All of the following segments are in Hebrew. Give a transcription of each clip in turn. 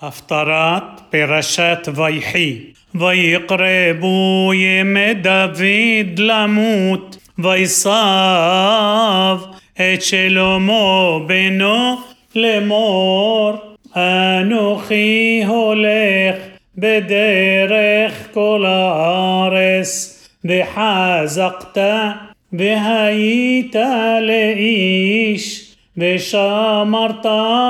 הפטרת פרשת ויחי. ויקרבו ימי דוד למות, ויסב את שלמה בנו לאמור, אנוכי הולך בדרך כל הארץ, וחזקת והיית לאיש, ושמרת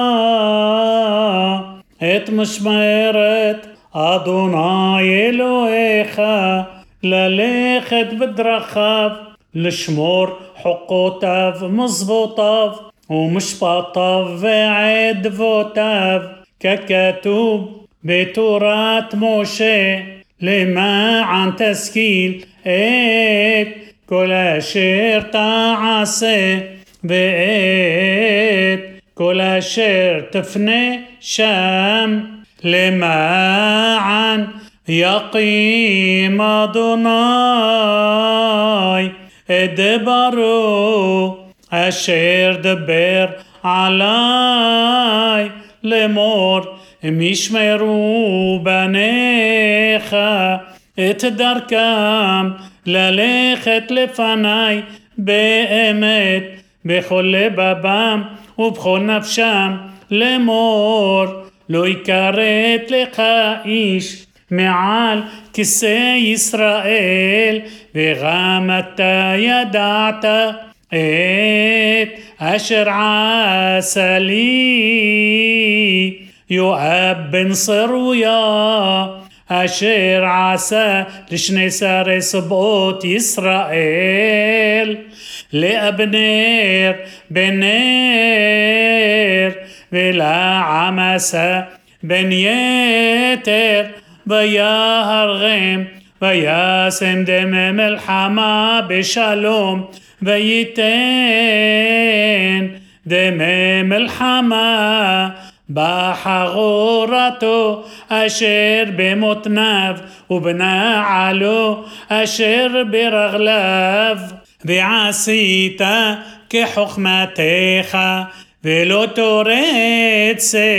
את משמרת אדוני אלוהיך, ללכת בדרכיו, לשמור חוקותיו ומצוותיו ומשפטיו ועדבותיו, ככתוב בתורת משה, למען תשכיל את כל אשר תעשה, ואת כל אשר תפנה שם, למען יקים אדוני את דברו אשר דבר עלי לאמור, אם ישמרו בניך את דרכם ללכת לפני באמת בכל לבבם ובכל נפשם, לאמור, לא יכרת לך איש מעל כיסא ישראל, וגם אתה ידעת את אשר עשה לי יואב בן צרויה, אשר עשה לשני שרי סבאות ישראל, לאבנר בן נר ולעמסה בן יתר, ויהרגם וישם דמי מלחמה בשלום, וייתן דמי מלחמה בחגורתו אשר במותניו ובנעלו אשר ברגליו, ועשית כחוכמתך ולא תורד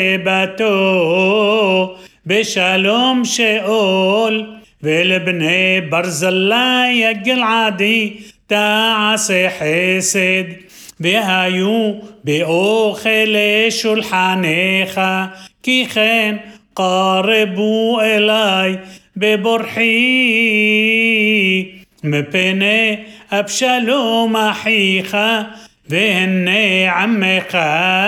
סבתו בשלום שאול, ולבני ברזלי הגלעדי תעשה חסד, והיו באוכל שולחניך, כי כן קרבו אלי בבורחי מפני אבשלום אחיך, והנה עמך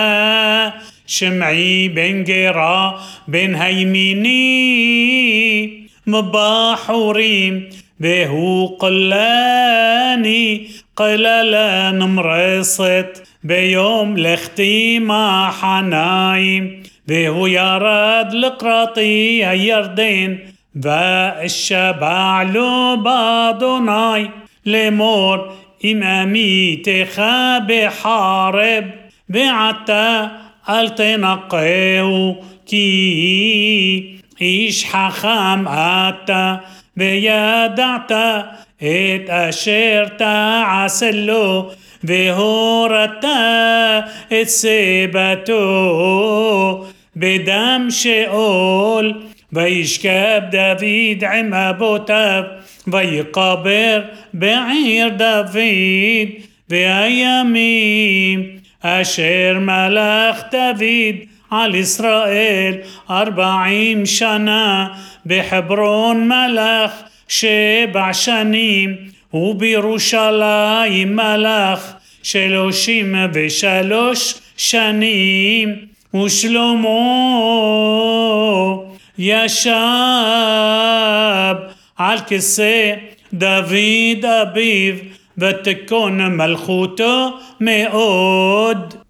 שמעי בן גרה בן הימיני מבחורים, והוא קלני קללה נמרסת ביום לכתי מחניים, והוא ירד לקראתי הירדן, ואשבע לו באדוני לאמור, אם אמיתך בחרב, ועתה אל תנקהו, כי איש חכם אתה, וידעת את אשר תעשה לו, והורדת את סבתו בדם שאול, וישכב דוד עם אבותיו, ויקבר בעיר דוד, והימים אשר מלך דוד על ישראל 40 שנה, בחברון מלך 7 שנים, ובירושלים מלך 33 שנים, ושלמה ישב על כיסא דוד אביו, ותכון מלכותו מאוד.